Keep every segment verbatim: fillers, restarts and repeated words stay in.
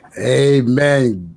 Amen.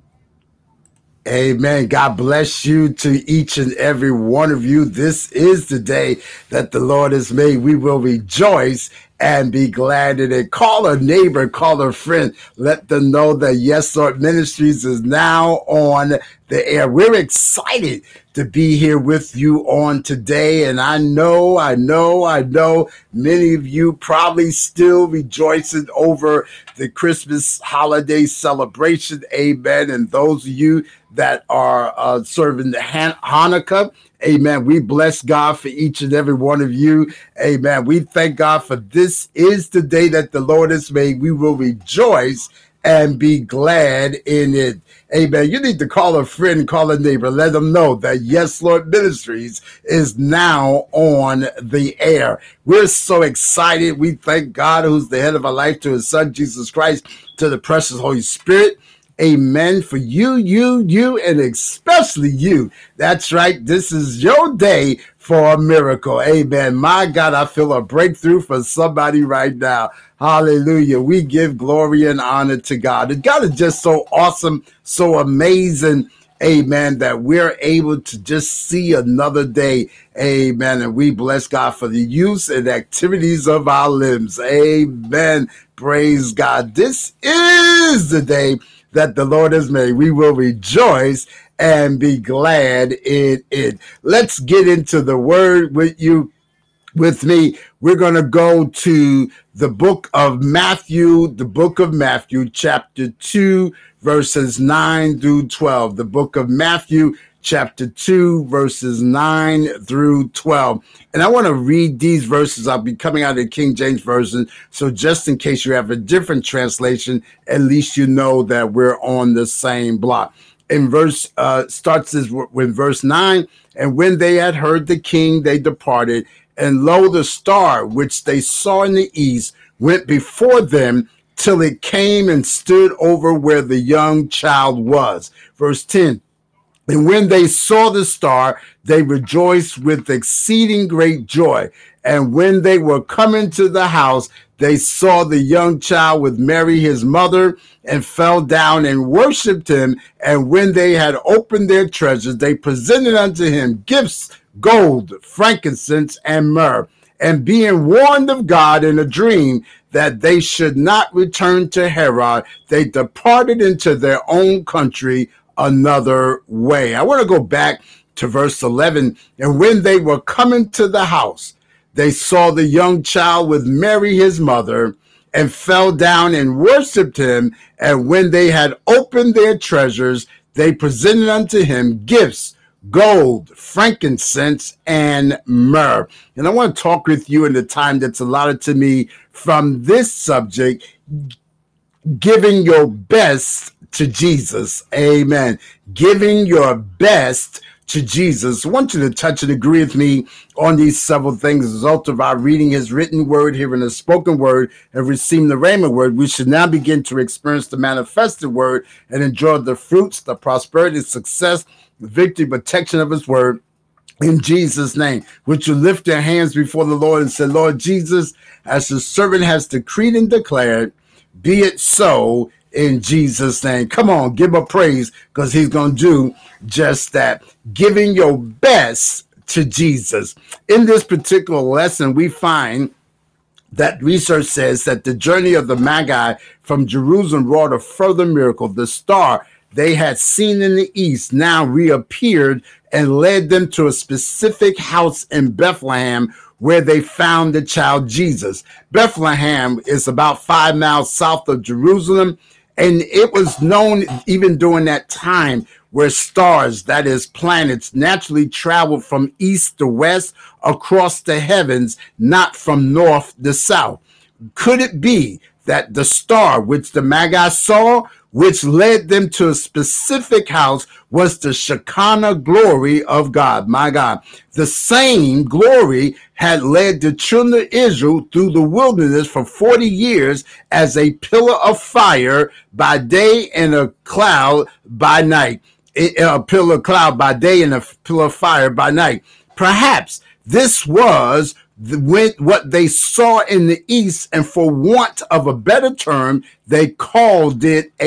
Amen. God bless you to each and every one of you. This is the day that the Lord has made. We will rejoice and be glad in it. Call a neighbor, call a friend. Let them know that Yes Lord Ministries is now on the air. We're excited to be here with you on today. And I know, I know, I know many of you probably still rejoicing over the Christmas holiday celebration. Amen. And those of you that are uh, serving the Han- Hanukkah, amen. We bless God for each and every one of you. Amen. We thank God for this is the day that the Lord has made. We will rejoice and be glad in it. Amen. You need to call a friend, call a neighbor, let them know that Yes Lord Ministries is now on the air. We're so excited. We thank God, who's the head of our life, to his son, Jesus Christ, to the precious Holy Spirit. Amen. For you, you, you, and especially you. That's right. This is your day for a miracle. Amen. My God, I feel a breakthrough for somebody right now. Hallelujah. We give glory and honor to God. And God is just so awesome, so amazing. Amen. That we're able to just see another day. Amen. And we bless God for the use and activities of our limbs. Amen. Praise God. This is the day that the Lord has made. We will rejoice and be glad in it. Let's get into the word with you. With me, we're going to go to the book of Matthew, the book of Matthew, chapter two, verses nine through twelve. The book of Matthew, chapter two, verses nine through twelve. And I want to read these verses. I'll be coming out of the King James Version. So just in case you have a different translation, at least you know that we're on the same block. In verse, uh, starts as with verse nine, and when they had heard the king, they departed. And lo, the star which they saw in the east went before them till it came and stood over where the young child was. Verse ten. And when they saw the star, they rejoiced with exceeding great joy. And when they were coming to the house, they saw the young child with Mary, his mother, and fell down and worshipped him. And when they had opened their treasures, they presented unto him gifts, gold, frankincense, and myrrh. And being warned of God in a dream that they should not return to Herod, they departed into their own country another way. I want to go back to verse eleven. And when they were coming to the house, they saw the young child with Mary, his mother, and fell down and worshipped him. And when they had opened their treasures, they presented unto him gifts, gold, frankincense, and myrrh. And I want to talk with you in the time that's allotted to me from this subject, giving your best to Jesus. Amen. Giving your best to Jesus. I want you to touch and agree with me on these several things. As a result of our reading his written word, hearing the spoken word, and receiving the rhema word, we should now begin to experience the manifested word and enjoy the fruits, the prosperity, success, the victory, protection of his word. In Jesus' name, would you lift your hands before the Lord and say, Lord Jesus, as the servant has decreed and declared, be it so in Jesus' name. Come on, give him a praise, because he's going to do just that. Giving your best to Jesus. In this particular lesson, we find that research says that the journey of the Magi from Jerusalem wrought a further miracle. The star they had seen in the east now reappeared and led them to a specific house in Bethlehem where they found the child Jesus. Bethlehem is about five miles south of Jerusalem, and it was known even during that time where stars, that is planets, naturally traveled from east to west across the heavens, not from north to south. Could it be that the star which the Magi saw, which led them to a specific house, was the Shekinah glory of God? My God. The same glory had led the children of Israel through the wilderness for forty years as a pillar of fire by day and a cloud by night. A pillar of cloud by day and a pillar of fire by night. Perhaps this was the, what they saw in the east, and for want of a better term, they called it a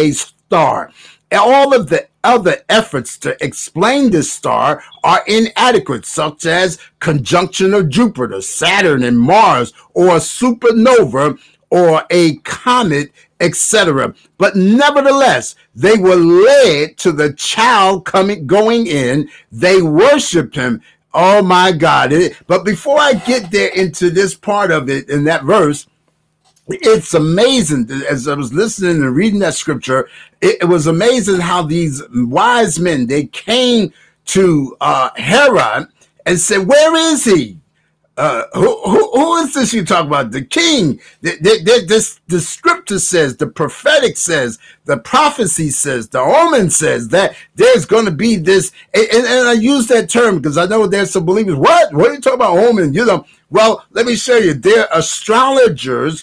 star. All of the other efforts to explain this star are inadequate, such as conjunction of Jupiter, Saturn, and Mars, or a supernova, or a comet, et cetera. But nevertheless, they were led to the child coming, going in. They worshiped him. Oh my God. But before I get there into this part of it, in that verse, it's amazing. As I was listening and reading that scripture, it, it was amazing how these wise men, they came to uh, Herod and said, where is he? Uh, who, who, who is this you talk about? The king. The, the, the, this, the scripture says, the prophetic says, the prophecy says, the omen says that there's going to be this. And, and, and I use that term because I know there's some believers. What? What are you talking about omen? You know, well, let me show you. They're astrologers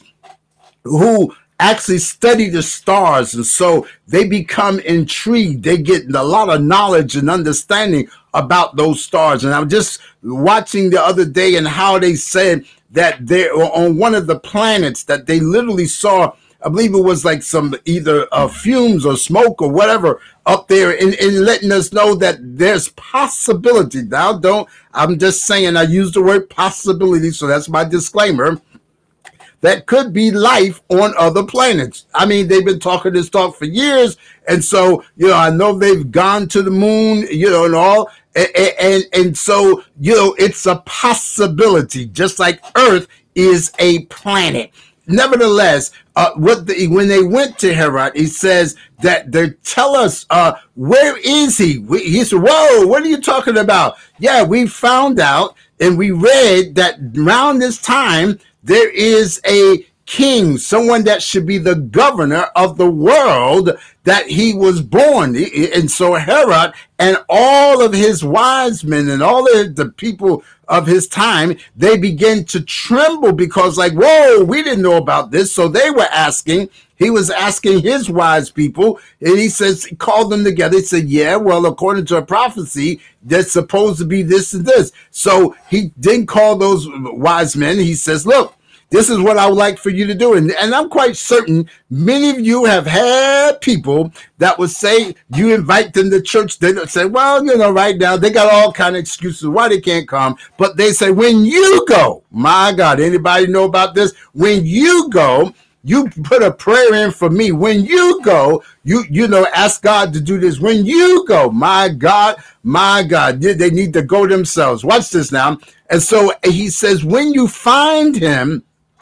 who actually study the stars, and so they become intrigued. They get a lot of knowledge and understanding about those stars. And I'm just watching the other day and how they said that they're on one of the planets that they literally saw, I believe it was like some either uh, fumes or smoke or whatever up there, and, and letting us know that there's possibility. Now, don't, I'm just saying, I use the word possibility, so that's my disclaimer. That could be life on other planets. I mean, they've been talking this talk for years. And so, you know, I know they've gone to the moon, you know, and all. And, and, and so, you know, it's a possibility, just like Earth is a planet. Nevertheless, uh, what the, when they went to Herod, he says that they tell us, uh, where is he? We, he said, whoa, what are you talking about? Yeah, we found out and we read that around this time, there is a king, someone that should be the governor of the world, that he was born. And so Herod and all of his wise men and all of the people of his time, they began to tremble because like, whoa, we didn't know about this. So they were asking, he was asking his wise people, and he says, he called them together. He said, yeah, well, according to a prophecy, there's supposed to be this and this. So he didn't call those wise men. He says, look, this is what I would like for you to do. And, and I'm quite certain many of you have had people that would say, you invite them to church. They don't say, well, you know, right now they got all kind of excuses why they can't come. But they say, when you go, my God, anybody know about this? When you go, you put a prayer in for me. When you go, you, you know, ask God to do this. When you go, my God, my God, they need to go themselves. Watch this now. And so he says, when you find him,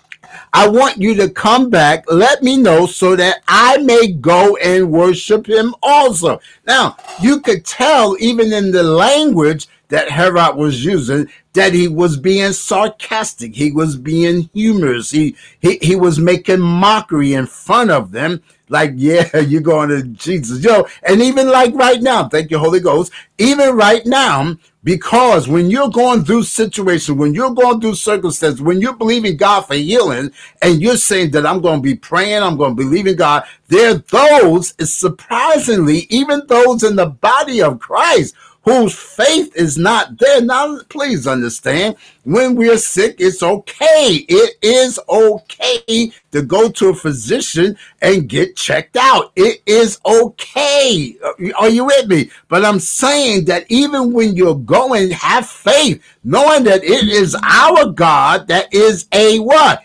I want you to come back, let me know so that I may go and worship him also. Now, you could tell even in the language that Herod was using that he was being sarcastic. He was being humorous. He, he, he was making mockery in front of them. Like, yeah, you're going to Jesus. Yo, and even like right now, thank you, Holy Ghost, even right now, because when you're going through situations, when you're going through circumstances, when you're believing God for healing, and you're saying that I'm going to be praying, I'm going to believe in God, there are those, surprisingly, even those in the body of Christ, whose faith is not there. Now, please understand, when we're sick, it's okay. It is okay to go to a physician and get checked out. It is okay. Are you with me? But I'm saying that even when you're going, have faith, knowing that it is our God that is a what?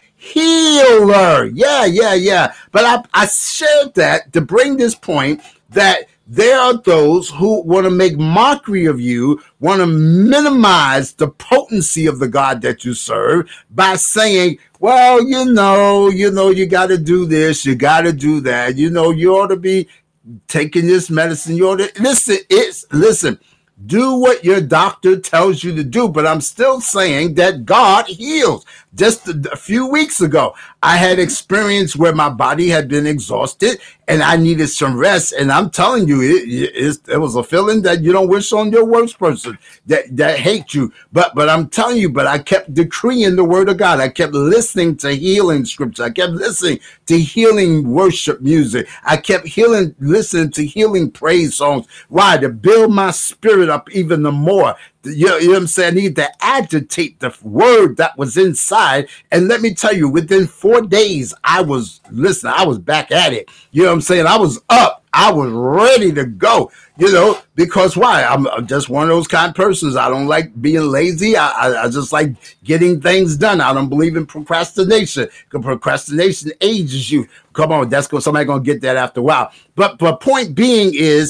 Healer. Yeah, yeah, yeah. But I, I shared that to bring this point that there are those who want to make mockery of you, want to minimize the potency of the God that you serve by saying, well, you know, you know, you got to do this, you got to do that. You know, you ought to be taking this medicine. You ought to listen. It's listen. Do what your doctor tells you to do. But I'm still saying that God heals. Just a, a few weeks ago, I had experience where my body had been exhausted and I needed some rest. And I'm telling you, it, it, it was a feeling that you don't wish on your worst person that, that hates you. But, but I'm telling you, but I kept decreeing the word of God. I kept listening to healing scripture. I kept listening to healing worship music. I kept healing, listening to healing praise songs. Why? To build my spirit up even the more. You know, you know what I'm saying? I need to agitate the word that was inside. And let me tell you, within four days, I was, listen, I was back at it. You know what I'm saying? I was up. I was ready to go, you know, because why? I'm just one of those kind of persons. I don't like being lazy. I, I, I just like getting things done. I don't believe in procrastination, because procrastination ages you. Come on, that's going somebody gonna get that after a while. But but point being is,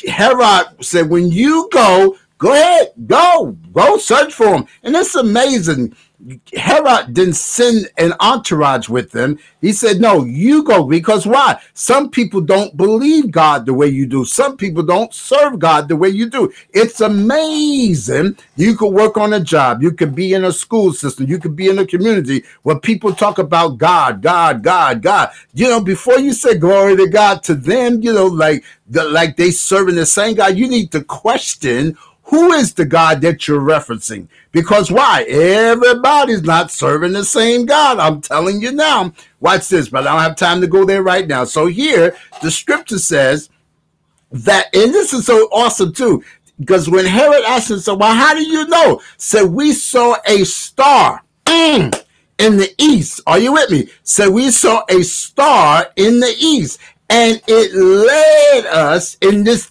Herod said, when you go, go ahead, go, go search for him. And it's amazing. Herod didn't send an entourage with them. He said, no, you go. Because why? Some people don't believe God the way you do. Some people don't serve God the way you do. It's amazing. You could work on a job. You could be in a school system. You could be in a community where people talk about God, God, God, God. You know, before you say glory to God to them, you know, like, the, like they serving the same God, you need to question, who is the God that you're referencing? Because why? Everybody's not serving the same God. I'm telling you now. Watch this, but I don't have time to go there right now. So here, the scripture says that, and this is so awesome too, because when Herod asked him, so, well, how do you know? Said, we saw a star mm, in the east. Are you with me? Said, we saw a star in the east, and it led us in this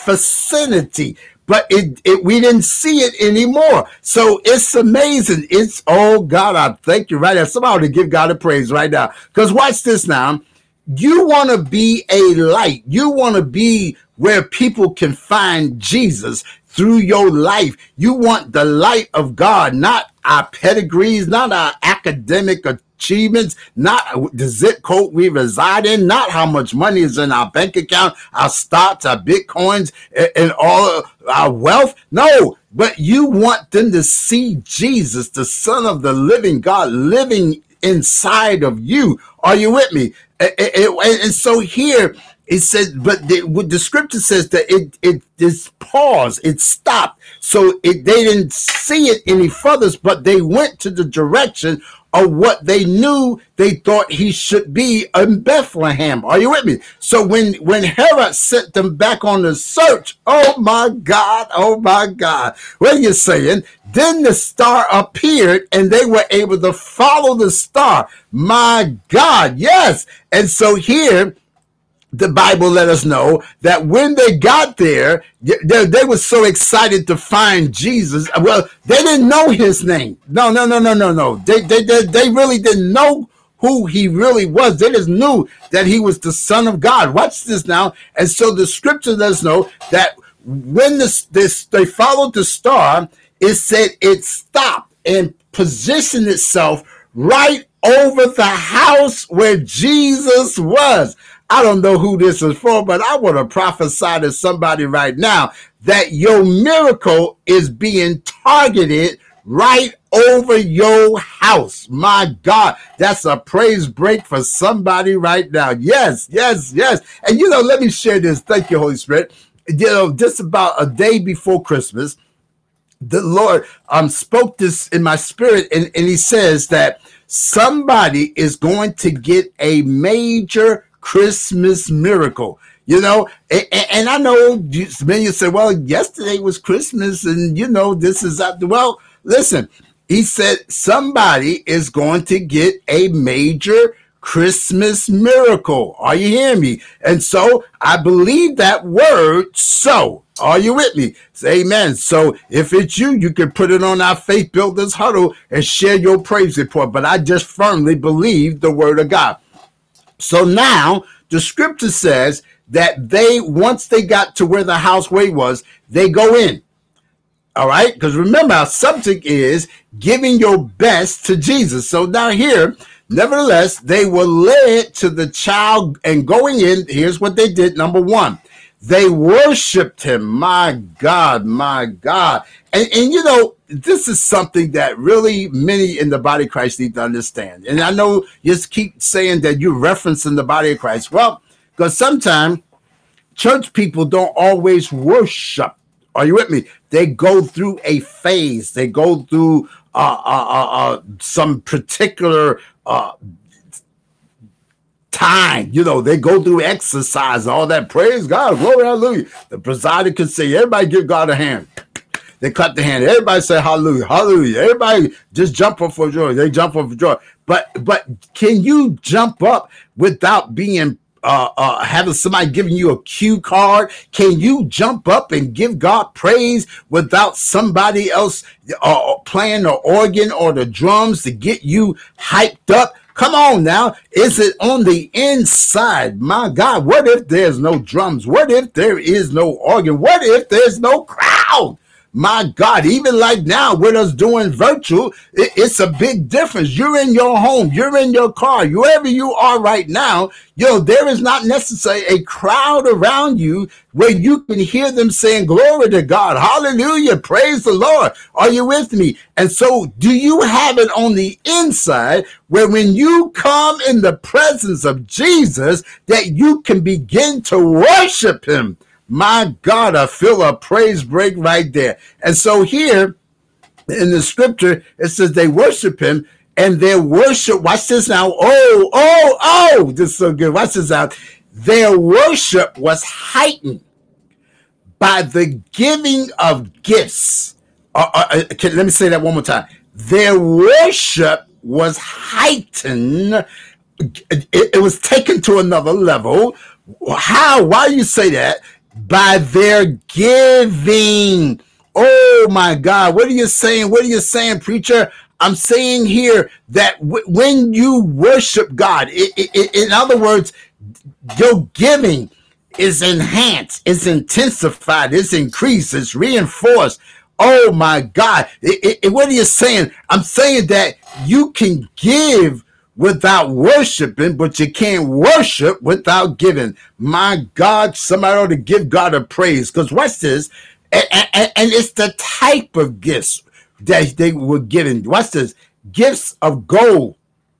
vicinity. But it, it, we didn't see it anymore. So it's amazing. It's, oh God, I thank you right now. Somebody to give God a praise right now. Because watch this now. You want to be a light. You want to be where people can find Jesus through your life. You want the light of God, not our pedigrees, not our academic achievements, not the zip code we reside in, not how much money is in our bank account, our stocks, our bitcoins, and all our wealth. No, but you want them to see Jesus, the Son of the living God, living inside of you. Are you with me? And so here it says, but the, the scripture says that it it is paused, it stopped. So it, they didn't see it any further, but they went to the direction of what they knew they thought he should be in Bethlehem. Are you with me? So when, when Herod sent them back on the search, oh my God, oh my God, what are you saying? Then the star appeared and they were able to follow the star. My God, yes. And so here, the Bible let us know that when they got there, they, they were so excited to find Jesus. Well, they didn't know his name. No, no, no, no, no, no. They, they, they, they really didn't know who he really was. They just knew that he was the Son of God. Watch this now. And so the scripture lets us know that when this, this they followed the star, it said it stopped and positioned itself right over the house where Jesus was. I don't know who this is for, but I want to prophesy to somebody right now that your miracle is being targeted right over your house. My God, that's a praise break for somebody right now. Yes, yes, yes. And you know, let me share this. Thank you, Holy Spirit. You know, just about a day before Christmas, the Lord um spoke this in my spirit, and, and he says that somebody is going to get a major Christmas miracle, you know, and, and I know many say, well, yesterday was Christmas and, you know, this is after. Well, listen, he said somebody is going to get a major Christmas miracle. Are you hearing me? And so I believe that word. So are you with me? Say amen. So if it's you, you can put it on our Faith Builders Huddle and share your praise report. But I just firmly believe the word of God. So now the scripture says that they, once they got to where the house way was, they go in. All right. Because remember, our subject is giving your best to Jesus. So now here, nevertheless, they were led to the child and going in. Here's what they did. Number one, they worshiped him. My God, my God. And, and you know, this is something that really many in the body of Christ need to understand. And I know you just keep saying that you're referencing the body of Christ. Well, because sometimes church people don't always worship. Are you with me? They go through a phase. They go through uh, uh, uh, uh, some particular uh, time. You know, they go through exercise, all that. Praise God, glory, hallelujah. The presider could say, everybody give God a hand. They clap the hand. Everybody say hallelujah, hallelujah. Everybody just jump up for joy. They jump up for joy. But but can you jump up without being uh, uh, having somebody giving you a cue card? Can you jump up and give God praise without somebody else uh, playing the organ or the drums to get you hyped up? Come on now. Is it on the inside? My God, what if there's no drums? What if there is no organ? What if there's no crowd? My God, even like now with us doing virtual, it, it's a big difference. You're in your home, you're in your car, wherever you are right now. Yo, there is not necessarily a crowd around you where you can hear them saying, glory to God, hallelujah, praise the Lord. Are you with me? And so do you have it on the inside where when you come in the presence of Jesus, that you can begin to worship him? My God, I feel a praise break right there. And so here in the scripture, it says they worship him, and their worship, watch this now. Oh, oh, oh, this is so good. Watch this out. Their worship was heightened by the giving of gifts. Uh, uh, okay, let me say that one more time. Their worship was heightened. It, it was taken to another level. How? Why do you say that? By their giving. Oh my God. What are you saying? What are you saying, preacher? I'm saying here that w- when you worship God, it, it, it, in other words, your giving is enhanced, it's intensified, it's increased, it's reinforced. Oh my God. It, it, what are you saying? I'm saying that you can give without worshiping, but you can't worship without giving. My God, somebody ought to give God a praise. Because watch this, and, and, and it's the type of gifts that they were given. Watch this, gifts of gold,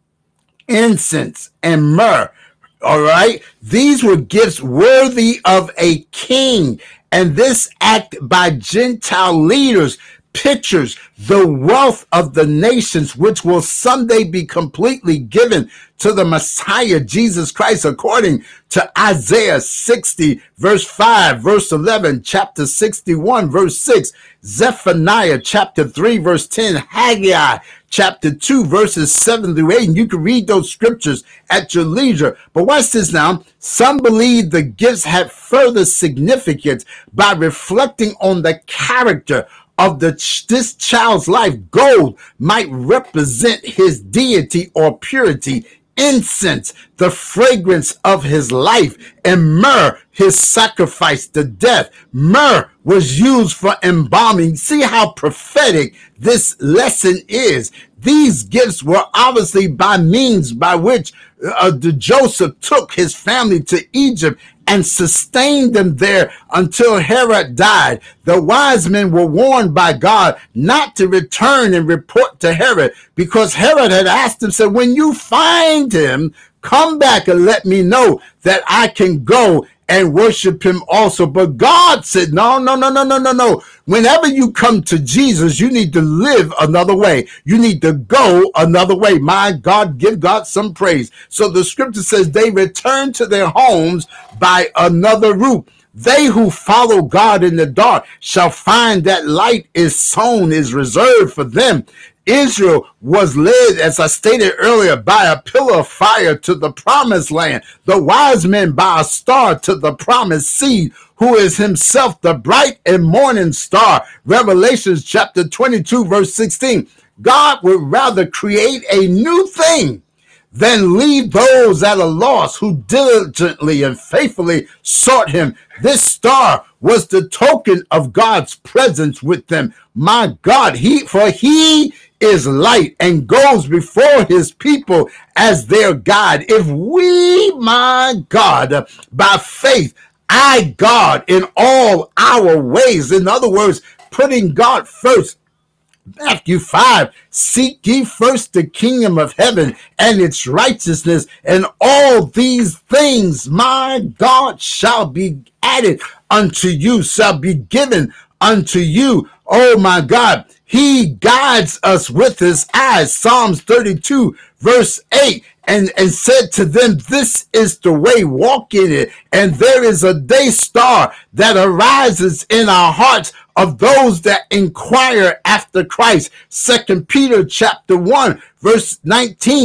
incense, and myrrh. All right, these were gifts worthy of a king. And this act by Gentile leaders pictures the wealth of the nations, which will someday be completely given to the Messiah, Jesus Christ, according to Isaiah sixty, verse five, verse eleven, chapter sixty-one, verse six, Zephaniah, chapter three, verse ten, Haggai, chapter two, verses seven through eight. And you can read those scriptures at your leisure. But watch this now. Some believe the gifts had further significance by reflecting on the character of the this child's life. Gold might represent his deity or purity, incense, the fragrance of his life, and myrrh, his sacrifice to death. Myrrh was used for embalming. See how prophetic this lesson is. These gifts were obviously by means by which uh, the Joseph took his family to Egypt and sustained them there until Herod died. The wise men were warned by God not to return and report to Herod, because Herod had asked him, said, when you find him, come back and let me know that I can go and worship him also. But God said, no, no, no, no, no, no, no. Whenever you come to Jesus, you need to live another way. You need to go another way. My God, give God some praise. So the scripture says they returned to their homes by another route. They who follow God in the dark shall find that light is sown, is reserved for them. Israel was led, as I stated earlier, by a pillar of fire to the promised land. The wise men by a star to the promised seed, who is himself the bright and morning star. Revelations chapter twenty-two, verse sixteen. God would rather create a new thing than leave those that are lost who diligently and faithfully sought him. This star was the token of God's presence with them. My God, he for he is light and goes before his people as their guide. If we, my God, by faith, I God in all our ways, in other words, putting God first. Matthew five, seek ye first the kingdom of heaven and its righteousness, and all these things, my God, shall be added unto you, shall be given unto you. Oh my God, he guides us with his eyes. Psalms thirty-two, verse eight. And, and said to them, this is the way, walk in it. And there is a day star that arises in our hearts of those that inquire after Christ. Second Peter chapter one, verse nineteen.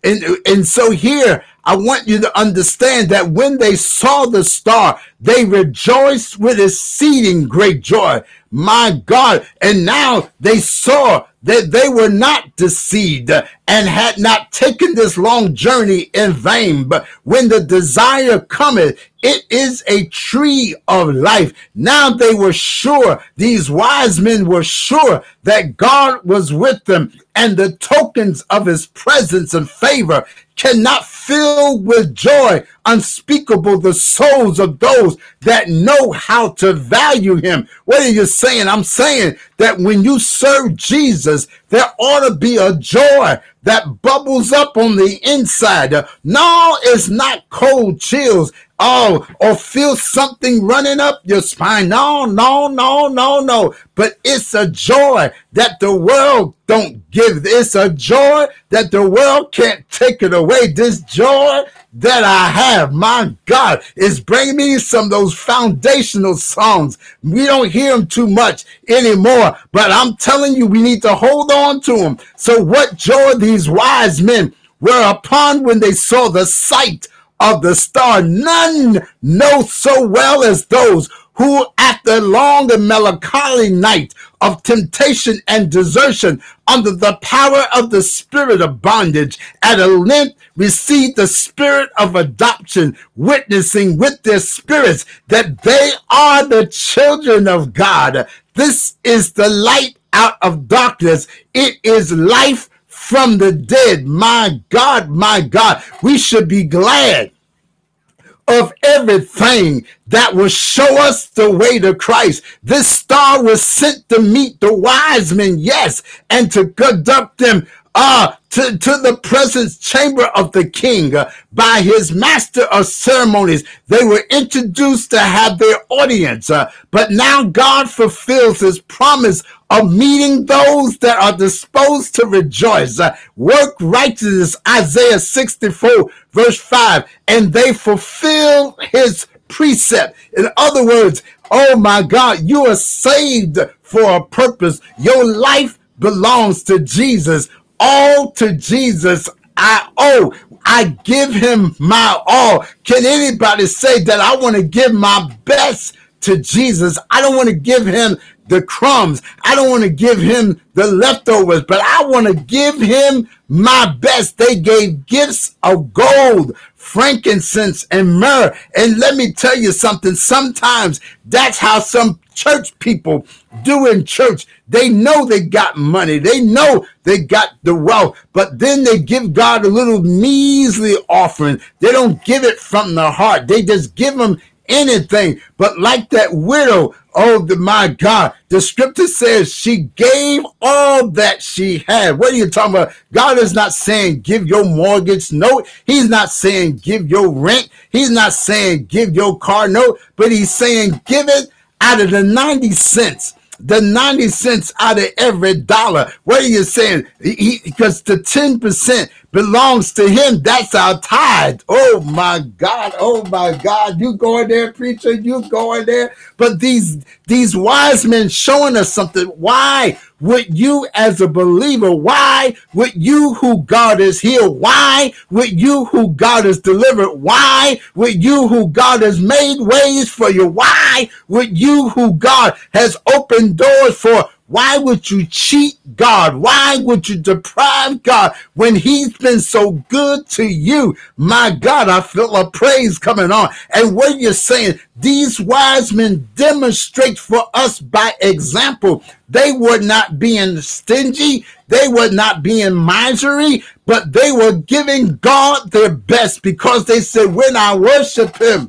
And, and so here, I want you to understand that when they saw the star, they rejoiced with exceeding great joy. My God. And now they saw that they were not deceived and had not taken this long journey in vain. But when the desire cometh, it is a tree of life. Now they were sure, these wise men were sure that God was with them, and the tokens of his presence and favor cannot fill with joy unspeakable the souls of those that know how to value him. What are you saying? I'm saying that when you serve Jesus, there ought to be a joy that bubbles up on the inside. No, it's not cold chills. Oh, or feel something running up your spine. No, no, no, no, no. But it's a joy that the world don't give. It's a joy that the world can't take it away. This joy that I have, my God, is bringing me some of those foundational songs. We don't hear them too much anymore, but I'm telling you, we need to hold on to them. So what joy these wise men were upon when they saw the sight of the star, none know so well as those who at the long and melancholy night of temptation and desertion under the power of the spirit of bondage at a length received the spirit of adoption, witnessing with their spirits that they are the children of God. This is the light out of darkness. It is life from the dead. My God, my God, we should be glad of everything that will show us the way to Christ. This star was sent to meet the wise men, yes, and to conduct them uh, to, to the presence chamber of the king. Uh, by his master of ceremonies, they were introduced to have their audience. Uh, but now God fulfills his promise of meeting those that are disposed to rejoice. Uh, work righteousness, Isaiah sixty-four, verse five, and they fulfill his precept. In other words, oh my God, you are saved for a purpose. Your life belongs to Jesus. All to Jesus I owe. I give him my all. Can anybody say that I want to give my best to Jesus? I don't want to give him the crumbs. I don't want to give him the leftovers, but I want to give him my best. They gave gifts of gold, frankincense, and myrrh. And let me tell you something. Sometimes that's how some church people do in church. They know they got money. They know they got the wealth, but then they give God a little measly offering. They don't give it from the heart. They just give him anything. But like that widow, oh the, my God, the scripture says she gave all that she had. What are you talking about? God is not saying give your mortgage note. He's not saying give your rent. He's not saying give your car note, but he's saying give it out of the ninety cents. The ninety cents out of every dollar. What are you saying? He, because the ten percent belongs to him. That's our tithe. Oh my God. Oh my God. You going there, preacher? You going there? But these, these wise men showing us something. Why would you as a believer, why would you who God has healed? Why would you who God has delivered? Why would you who God has made ways for you? Why would you who God has opened doors for? Why would you cheat God? Why would you deprive God when he's been so good to you? My God, I feel a praise coming on. And what you're saying, these wise men demonstrate for us by example. They were not being stingy. They were not being miserly, but they were giving God their best because they said, when I worship him,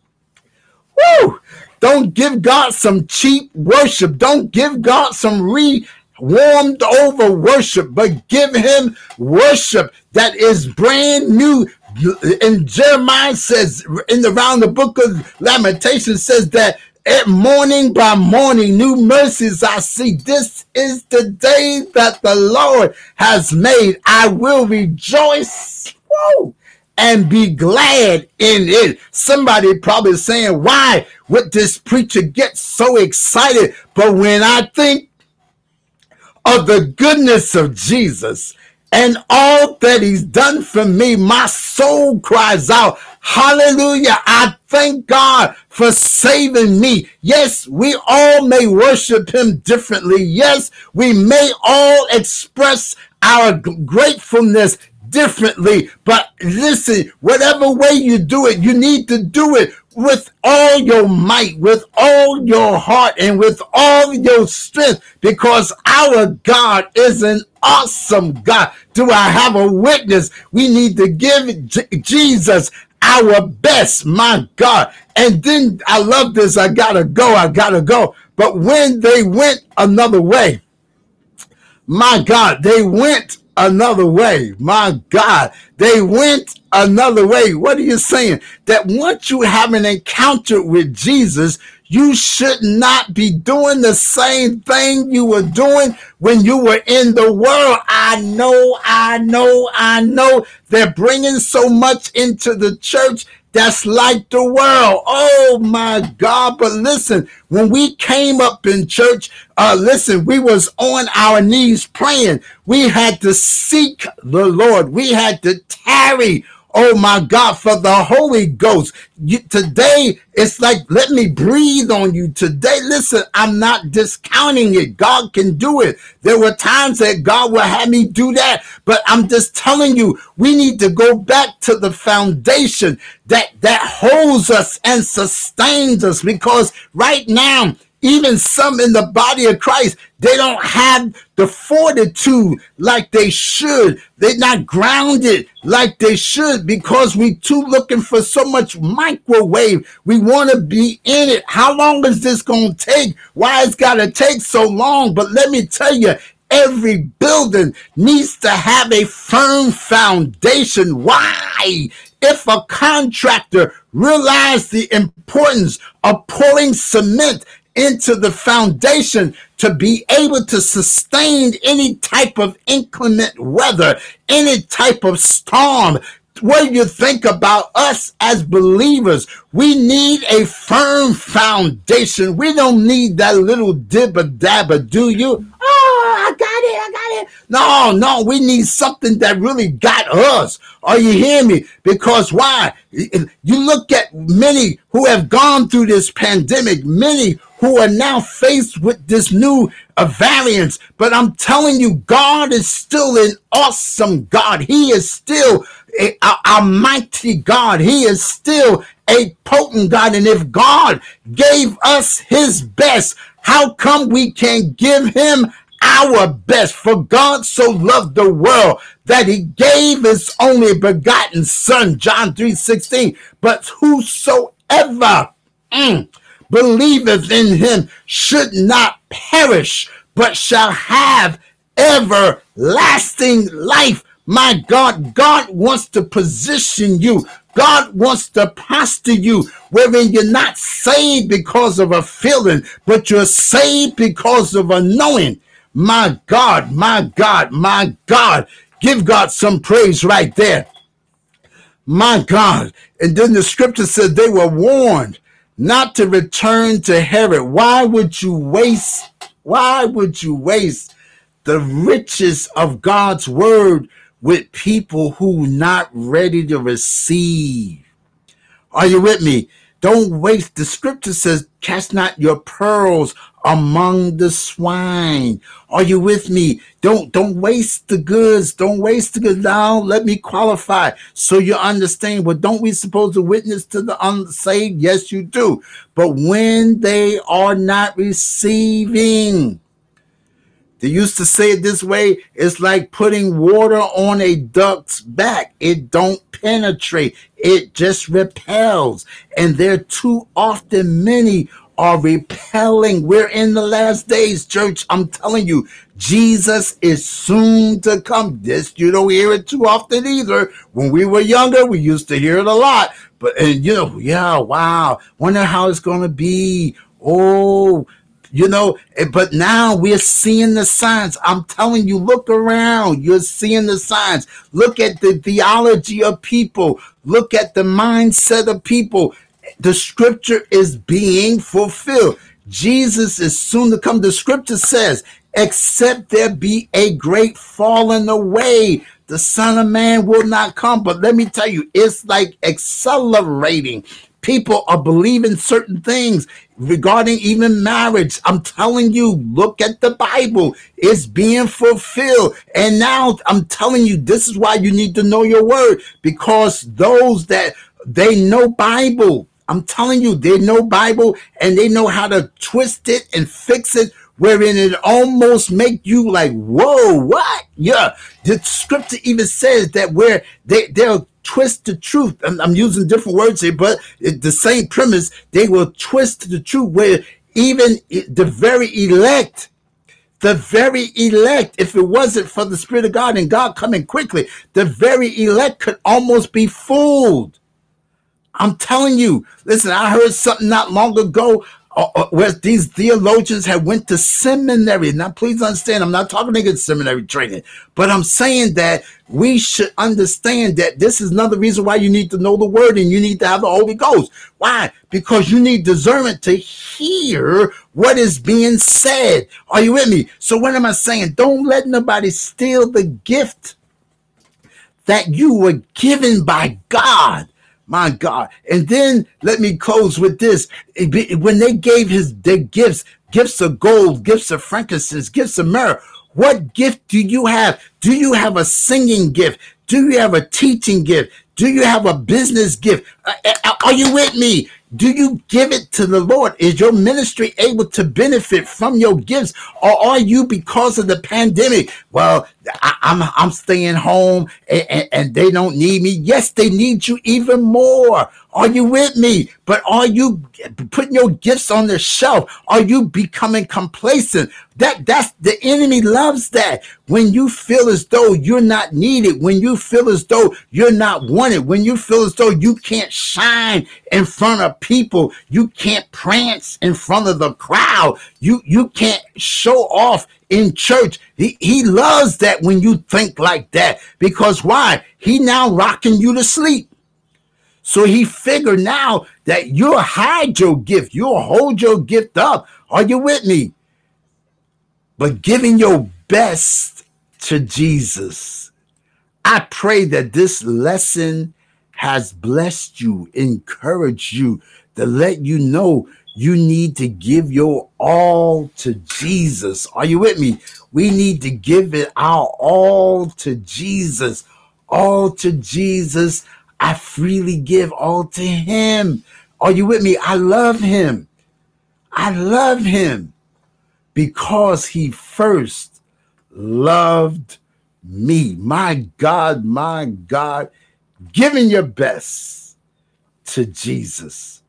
woo, don't give God some cheap worship. Don't give God some re-warmed over worship, but give him worship that is brand new. And Jeremiah says, in the around the book of Lamentations says that at morning by morning, new mercies I see. This is the day that the Lord has made. I will rejoice. Whoa. And be glad in it. Somebody probably saying, why would this preacher get so excited? But when I think of the goodness of Jesus and all that he's done for me, my soul cries out, hallelujah. I thank God for saving me. Yes, we all may worship him differently. Yes, we may all express our gratefulness differently. But listen, whatever way you do it, you need to do it with all your might, with all your heart, and with all your strength, because our God is an awesome God. Do I have a witness? We need to give J- Jesus our best, my God. And then I love this. I gotta go. I gotta go. But when they went another way, my God, they went another way. My God, they went another way. What are you saying? That once you have an encounter with Jesus, you should not be doing the same thing you were doing when you were in the world. I know, I know, I know. They're bringing so much into the church that's like the world. Oh my God. But listen, when we came up in church, uh, listen, we was on our knees praying. We had to seek the Lord. We had to tarry, oh my God, for the Holy Ghost. You, today, it's like, let me breathe on you today. Listen, I'm not discounting it. God can do it. There were times that God will have me do that, but I'm just telling you, we need to go back to the foundation that, that holds us and sustains us, because right now, even some in the body of Christ, they don't have the fortitude like they should. They're not grounded like they should, because we too looking for so much microwave. We want to be in it. How long is this going to take? Why it's got to take so long? But let me tell you, every building needs to have a firm foundation. Why? If a contractor realized the importance of pouring cement into the foundation to be able to sustain any type of inclement weather, any type of storm, what do you think about us as believers? We need a firm foundation. We don't need that little dibba dabba, do you? Oh, I got it, I got it. No, no, we need something that really got us. Are you hearing me? Because why? You look at many who have gone through this pandemic, many who are now faced with this new uh, variants. But I'm telling you, God is still an awesome God. He is still a, a, a mighty God. He is still a potent God. And if God gave us his best, how come we can't give him our best? For God so loved the world that he gave his only begotten son, John three sixteen. But whosoever mm, believeth in him should not perish, but shall have everlasting life. My God, God wants to position you. God wants to posture you wherein you're not saved because of a feeling, but you're saved because of a knowing. My God, my God, my God. Give God some praise right there. My God. And then the scripture said they were warned not to return to Herod. Why would you waste? Why would you waste the riches of God's word with people who not ready to receive? Are you with me? Don't waste. The scripture says, cast not your pearls among the swine. Are you with me? Don't don't waste the goods. Don't waste the goods. Now let me qualify so you understand. Well, don't we supposed to witness to the unsaved? Yes, you do. But when they are not receiving, they used to say it this way, it's like putting water on a duck's back. It don't penetrate. It just repels. And there too often many are repelling. We're in the last days, church. I'm telling you, Jesus is soon to come. This, you don't hear it too often either. When we were younger, we used to hear it a lot. But, and you know, yeah, wow. Wonder how it's going to be. Oh, you know, but now we're seeing the signs. I'm telling you, look around. You're seeing the signs. Look at the theology of people. Look at the mindset of people. The scripture is being fulfilled. Jesus is soon to come. The scripture says except there be a great falling away. The Son of Man will not come. But let me tell you, it's like accelerating. People are believing certain things regarding even marriage. I'm telling you, look at the Bible. It's being fulfilled. And now I'm telling you, this is why you need to know your word, because those that they know Bible, I'm telling you, they know Bible and they know how to twist it and fix it, wherein it almost make you like, whoa, what? Yeah, the scripture even says that where they, they'll twist the truth. I'm, I'm using different words here, but it, the same premise, they will twist the truth where even the very elect, the very elect, if it wasn't for the Spirit of God and God coming quickly, the very elect could almost be fooled. I'm telling you, listen, I heard something not long ago uh, uh, where these theologians had went to seminary. Now, please understand, I'm not talking against seminary training, but I'm saying that we should understand that this is another reason why you need to know the word and you need to have the Holy Ghost. Why? Because you need discernment to hear what is being said. Are you with me? So what am I saying? Don't let nobody steal the gift that you were given by God. My God. And then let me close with this. When they gave his their gifts, gifts of gold, gifts of frankincense, gifts of myrrh, what gift do you have? Do you have a singing gift? Do you have a teaching gift? Do you have a business gift? Are you with me? Do you give it to the Lord? Is your ministry able to benefit from your gifts? Or are you, because of the pandemic, well, I, I'm I'm staying home and, and, and they don't need me? Yes, they need you even more. Are you with me? But are you putting your gifts on the shelf? Are you becoming complacent? That that's the enemy loves that. When you feel as though you're not needed, when you feel as though you're not wanted, when you feel as though you can't shine in front of people, you can't prance in front of the crowd, you you can't show off in church. He, he loves that when you think like that. Because why? He now rocking you to sleep. So he figured now that you'll hide your gift. You'll hold your gift up. Are you with me? But giving your best to Jesus. I pray that this lesson has blessed you, encouraged you, to let you know you need to give your all to Jesus. Are you with me? We need to give it our all to Jesus. All to Jesus. I freely give all to him. Are you with me? I love him. I love him because he first loved me. My God, my God, giving your best to Jesus.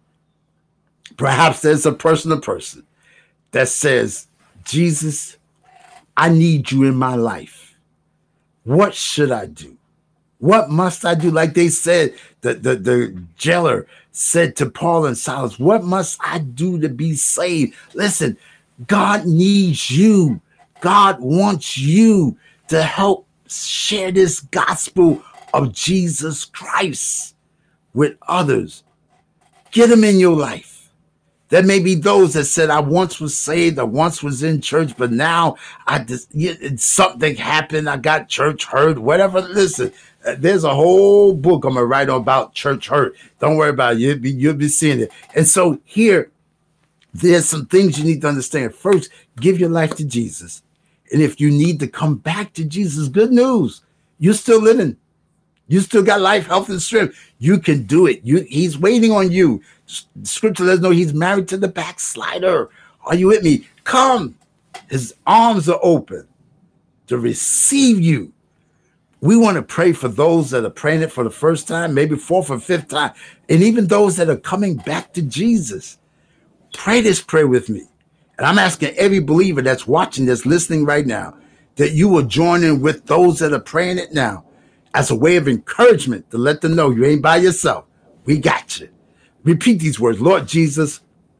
Perhaps there's a person to person that says, Jesus, I need you in my life. What should I do? What must I do? Like they said, the, the, the jailer said to Paul and Silas, what must I do to be saved? Listen, God needs you. God wants you to help share this gospel of Jesus Christ with others. Get them in your life. There may be those that said, I once was saved, I once was in church, but now I just, something happened, I got church hurt, whatever. Listen, there's a whole book I'm going to write about church hurt. Don't worry about it. You'll be, you'll be seeing it. And so here, there's some things you need to understand. First, give your life to Jesus. And if you need to come back to Jesus, good news. You're still living. You still got life, health, and strength. You can do it. You, he's waiting on you. Scripture lets us know he's married to the backslider. Are you with me? Come. His arms are open to receive you. We want to pray for those that are praying it for the first time, maybe fourth or fifth time, and even those that are coming back to Jesus. Pray this prayer with me. And I'm asking every believer that's watching this, listening right now, that you will join in with those that are praying it now as a way of encouragement to let them know you ain't by yourself. We got you. Repeat these words. Lord Jesus,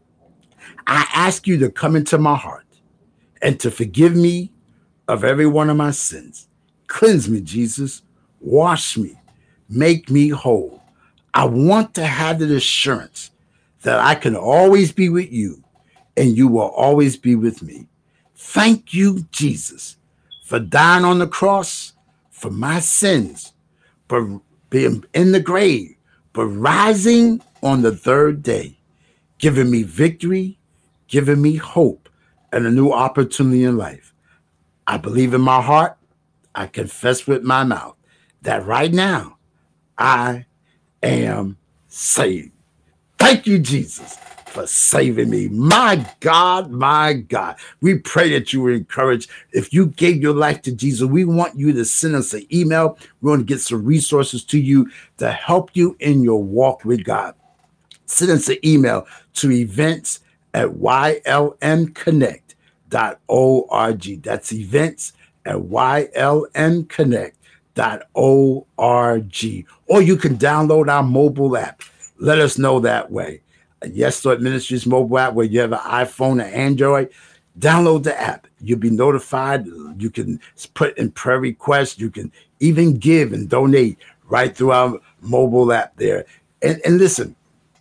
I ask you to come into my heart and to forgive me of every one of my sins. Cleanse me, Jesus. Wash me. Make me whole. I want to have the assurance that I can always be with you and you will always be with me. Thank you, Jesus, for dying on the cross for my sins, for being in the grave, but rising on the third day, giving me victory, giving me hope, and a new opportunity in life. I believe in my heart, I confess with my mouth that right now I am saved. Thank you, Jesus, for saving me. My God, my God. We pray that you were encouraged. If you gave your life to Jesus, we want you to send us an email. We want to get some resources to you to help you in your walk with God. Send us an email to events at y l m connect dot org. That's events at y l m connect dot org. Or you can download our mobile app. Let us know that way. Yes Lord Ministries mobile app, where you have an iPhone or Android, download the app. You'll be notified. You can put in prayer requests. You can even give and donate right through our mobile app there. And, and listen,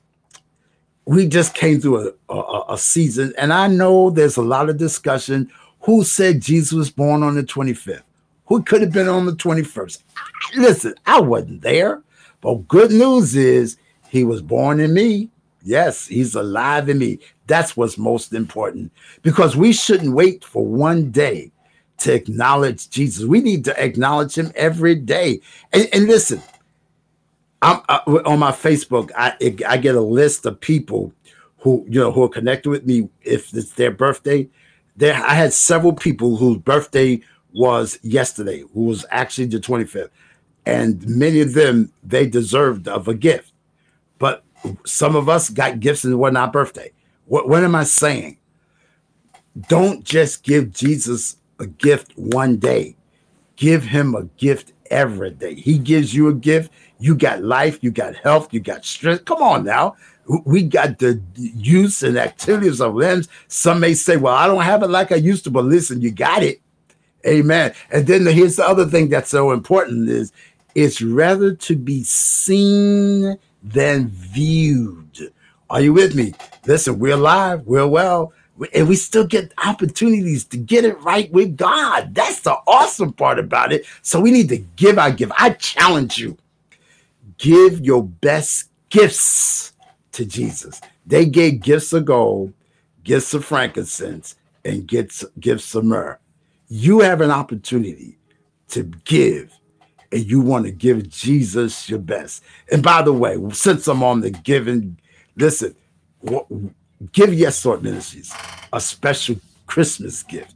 we just came through a, a, a season, and I know there's a lot of discussion. Who said Jesus was born on the twenty-fifth? Who could have been on the twenty-first? Listen, I wasn't there, but good news is he was born in me. Yes, he's alive in me. That's what's most important, because we shouldn't wait for one day to acknowledge Jesus. We need to acknowledge him every day. And, and listen, I'm uh, on my Facebook. I I get a list of people who you know who are connected with me. If it's their birthday, there I had several people whose birthday was yesterday, who was actually the twenty-fifth, and many of them, they deserved of a gift. But some of us got gifts and it wasn't our birthday. What what am I saying? Don't just give Jesus a gift one day. Give him a gift every day. He gives you a gift. You got life, you got health, you got strength. Come on now. We got the use and activities of limbs. Some may say, well, I don't have it like I used to, but listen, you got it. Amen. And then here's the other thing that's so important is it's rather to be seen than viewed. Are you with me? Listen, we're alive, we're well, and we still get opportunities to get it right with God. That's the awesome part about it. So we need to give our gift. I challenge you. Give your best gifts to Jesus. They gave gifts of gold, gifts of frankincense, and gifts, gifts of myrrh. You have an opportunity to give, and you want to give Jesus your best. And by the way, since I'm on the giving, listen, give Yes Lord Ministries a special Christmas gift.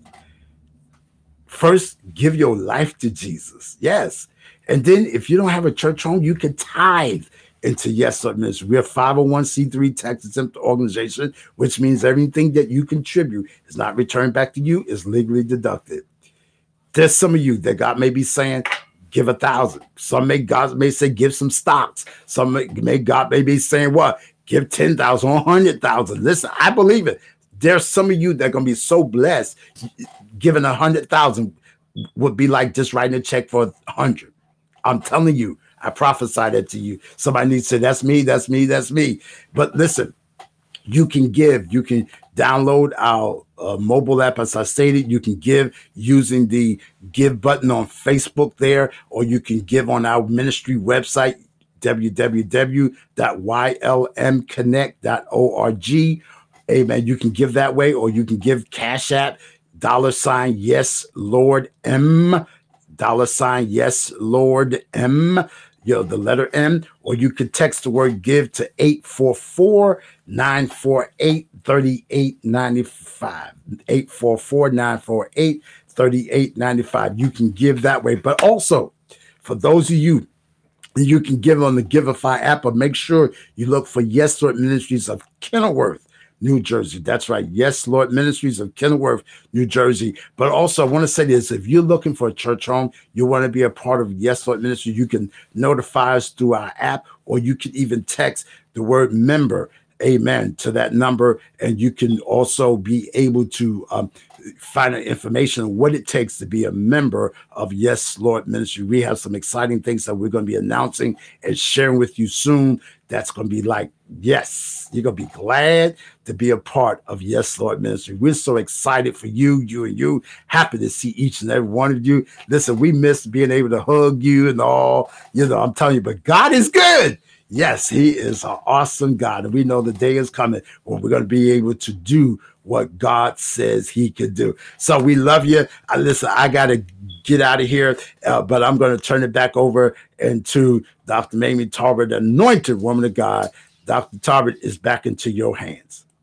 First, give your life to Jesus. Yes. And then if you don't have a church home, you can tithe into Yes Lord Ministries. We're a five oh one c three tax-exempt organization, which means everything that you contribute is not returned back to you, is legally deducted. There's some of you that God may be saying, give a thousand. Some may God may say, give some stocks. Some may, may God may be saying, what? Give ten thousand or one hundred thousand. Listen, I believe it. There's some of you that are going to be so blessed, giving one hundred thousand would be like just writing a check for one hundred. I'm telling you, I prophesied that to you. Somebody needs to say, that's me, that's me, that's me. But listen, you can give. You can download our uh, mobile app, as I stated. You can give using the give button on Facebook there, or you can give on our ministry website, w w w dot y l m connect dot org. Amen. You can give that way, or you can give Cash App, dollar sign, yes, Lord M, dollar sign, yes, Lord M, you know, the letter M, or you could text the word give to eight four four, nine four eight, three eight nine five, eight four four, nine four eight, three eight nine five. You can give that way. But also, for those of you, you can give on the Giveify app, but make sure you look for Yes Lord Ministries of Kenilworth, New Jersey. That's right. Yes Lord Ministries of Kenilworth, New Jersey. But also, I want to say this. If you're looking for a church home, you want to be a part of Yes Lord Ministries, you can notify us through our app, or you can even text the word member, amen, to that number. And you can also be able to um, find out information on what it takes to be a member of Yes Lord Ministry. We have some exciting things that we're going to be announcing and sharing with you soon. That's going to be like, yes, you're going to be glad to be a part of Yes Lord Ministry. We're so excited for you, you and you. Happy to see each and every one of you. Listen, we miss being able to hug you and all, you know, I'm telling you, but God is good. Yes, he is an awesome God. And we know the day is coming when we're going to be able to do what God says he could do. So we love you. I, listen, I got to get out of here, uh, but I'm going to turn it back over into Doctor Mamie Tarbert, the anointed woman of God. Doctor Tarbert is back into your hands.